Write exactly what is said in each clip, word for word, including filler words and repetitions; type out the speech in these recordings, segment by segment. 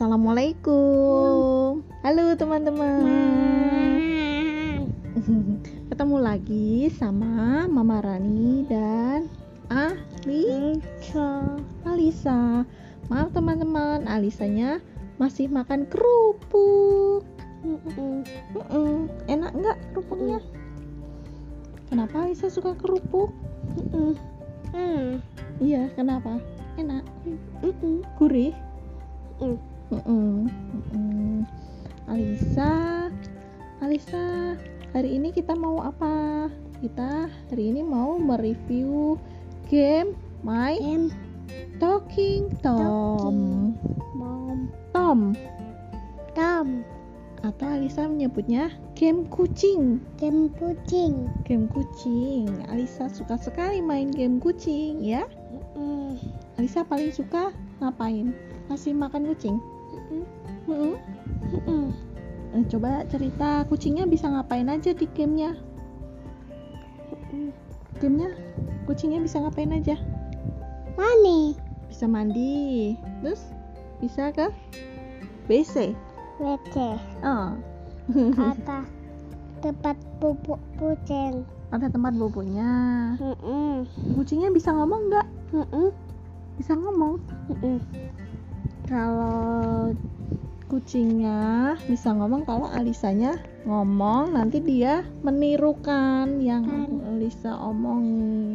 Assalamualaikum. Halo teman-teman. Ketemu lagi sama Mama Rani dan Alisa. Alisa. Maaf teman-teman, Alisanya masih makan kerupuk. Mm-mm. Mm-mm. Enak nggak kerupuknya? Kenapa Alisa suka kerupuk? Mm-mm. Hmm. Iya, kenapa? Enak. Mm-mm. Gurih. Mm. Mm-mm. Mm-mm. Alisa, Alisa, hari ini kita mau apa? Kita hari ini mau mereview game My Em Talking Tom. Mom Tom, Tom atau Alisa menyebutnya game kucing. Game kucing. Game kucing. Alisa suka sekali main game kucing, ya. Mm. Alisa paling suka ngapain? Kasih makan kucing. Mm. Mm-mm. Mm. Eh, coba cerita kucingnya bisa ngapain aja di gamenya? Mm. Gamenya kucingnya bisa ngapain aja? Mani Bisa mandi, terus bisa ke W C. W C Oh. atau tempat pupuk kucing. Ada tempat boboknya. Mm-mm. Kucingnya bisa ngomong nggak? Mm-mm. Bisa ngomong. Mm-mm. Kalau kucingnya bisa ngomong, kalau Alisanya ngomong, nanti dia menirukan yang Kan. Alisa omongin.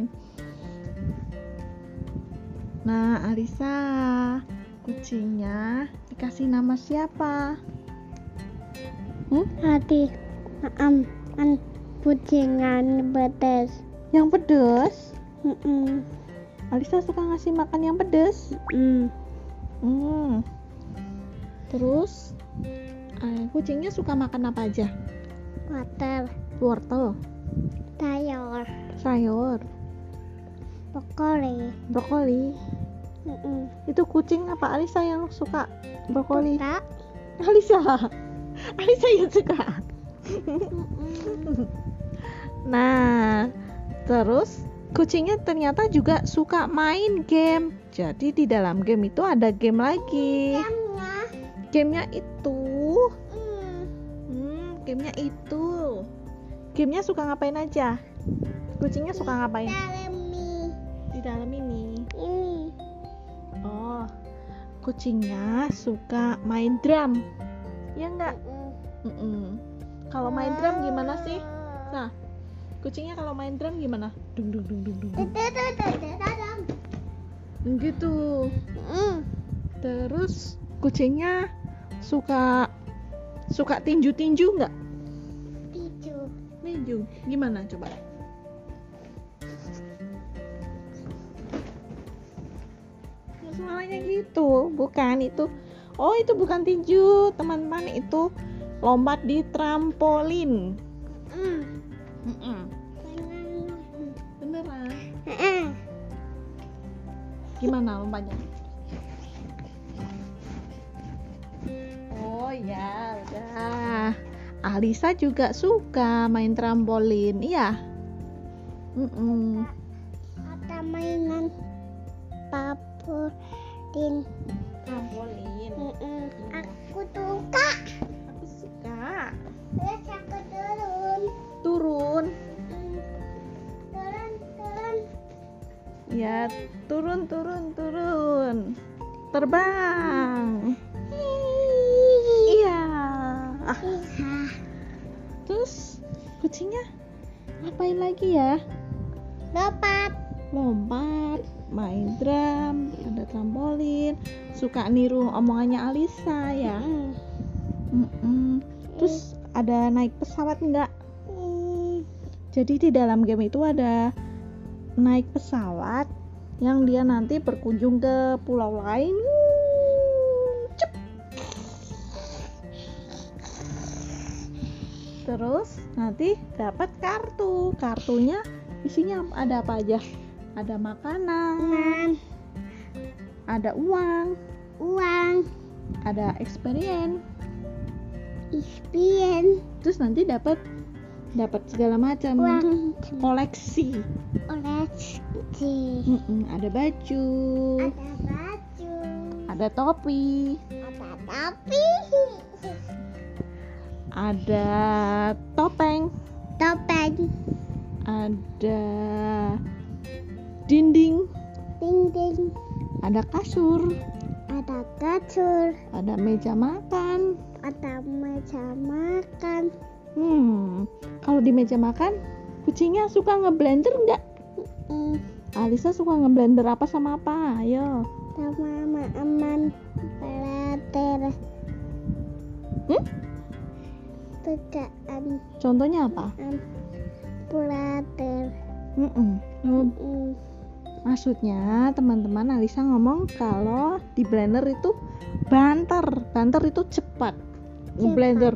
Nah, Alisa, kucingnya dikasih nama siapa? Hmm? Hati am an kucingan betes. Yang pedes? Mm-mm. Alisa suka ngasih makan yang pedes. Mm. Hmm. Terus eh, kucingnya suka makan apa aja? Water, Wortel, sayur, sayur, brokoli. brokoli. Mm-mm. Itu kucing apa Alisa yang suka brokoli? Suka. Alisa. Alisa yang suka. Mm-mm. Nah, terus kucingnya ternyata juga suka main game. Jadi di dalam game itu ada game lagi. Gamenya. Gamenya itu, Mm. hmm, gamenya itu. Gamenya suka ngapain aja? Kucingnya suka ngapain? Dalam mie. Di dalam ini. Ini. Oh, kucingnya suka main drum. Ya enggak? Mm-mm. Mm-mm. Kalau main drum gimana sih? Nah, kucingnya kalau main drum gimana? Dung dung dung dung dung. dung. Dadadadadadam. Gitu. Mm. Terus kucingnya suka suka tinju-tinju nggak? Tisu. Tinju. Gimana coba? Ya, suaranya gitu, bukan itu. Oh, itu bukan tinju, teman-teman, itu lompat di trampolin. Mm. Mm-mm. Beneran? Mm. Gimana lompatnya? Oh ya, udah. Alisa juga suka main trampolin, iya. Mm-mm. Ada mainan trampolin. Trampolin. Mm-mm. Aku suka. Aku suka. Terus aku turun. Turun. Mm. Turun, turun. Ya, turun, turun, turun. Terbang. Iya. Ah, Iya. terus kucingnya ngapain lagi ya? Lompat. Lompat, main drum, ada trampolin, suka niru omongannya Alisa ya. Mm. Mm-mm. Terus ada naik pesawat enggak? Mm. Jadi di dalam game itu ada naik pesawat yang dia nanti berkunjung ke pulau lain. Cep. Terus nanti dapat kartu. Kartunya isinya ada apa aja? Ada makanan, Nan. ada uang, Uang. ada experience. Ispien. Terus nanti dapat dapat segala macam Uang. koleksi. Oles. Mm-mm, ada baju, Ada baju. ada topi, Ada Tapi ada topeng, topeng, ada dinding, dinding, ada kasur, ada kasur, ada meja makan. ada meja makan. Hmm, kalau di meja makan, kucingnya suka ngeblender nggak? Mm, Alisa suka ngeblender apa sama apa? Ayo. sama aman pelater. Hmm? Tegaan Contohnya apa? am pelater. Mm-mm. Mm, Maksudnya teman-teman, Alisa ngomong kalau di blender itu banter, banter itu cepat. Ngeblender.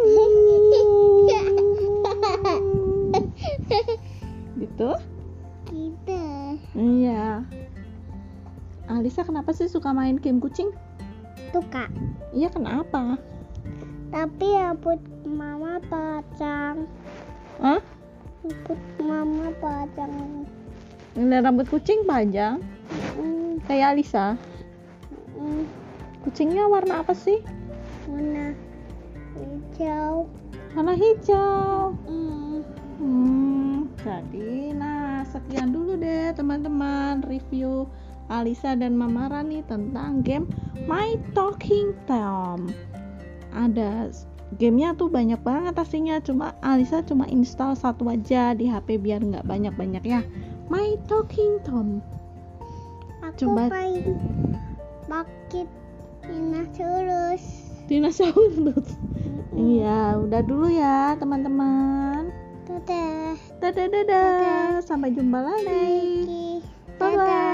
Gitu? Gitu. Iya. Alisa kenapa sih suka main game kucing? Tuh kak. Iya, kenapa? Tapi rambut mama panjang. Hah? Rambut mama panjang. Ngeliat rambut kucing panjang Mm, kayak Alisa. mm, Kucingnya warna apa sih? warna hijau. Warna hijau. Mm, Hmm, jadi nah sekian dulu deh teman-teman review Alisa dan Mama Rani tentang game My Talking Tom. Ada gamenya tuh banyak banget aslinya, cuma Alisa cuma install satu aja di H P biar nggak banyak-banyak ya. My Talking Tom. aku Coba. main pakai dinosaurus. Dinosaurus. Iya, udah dulu ya teman-teman. Dadah. Dadah dadah. Sampai jumpa lagi. Lagi. Bye bye.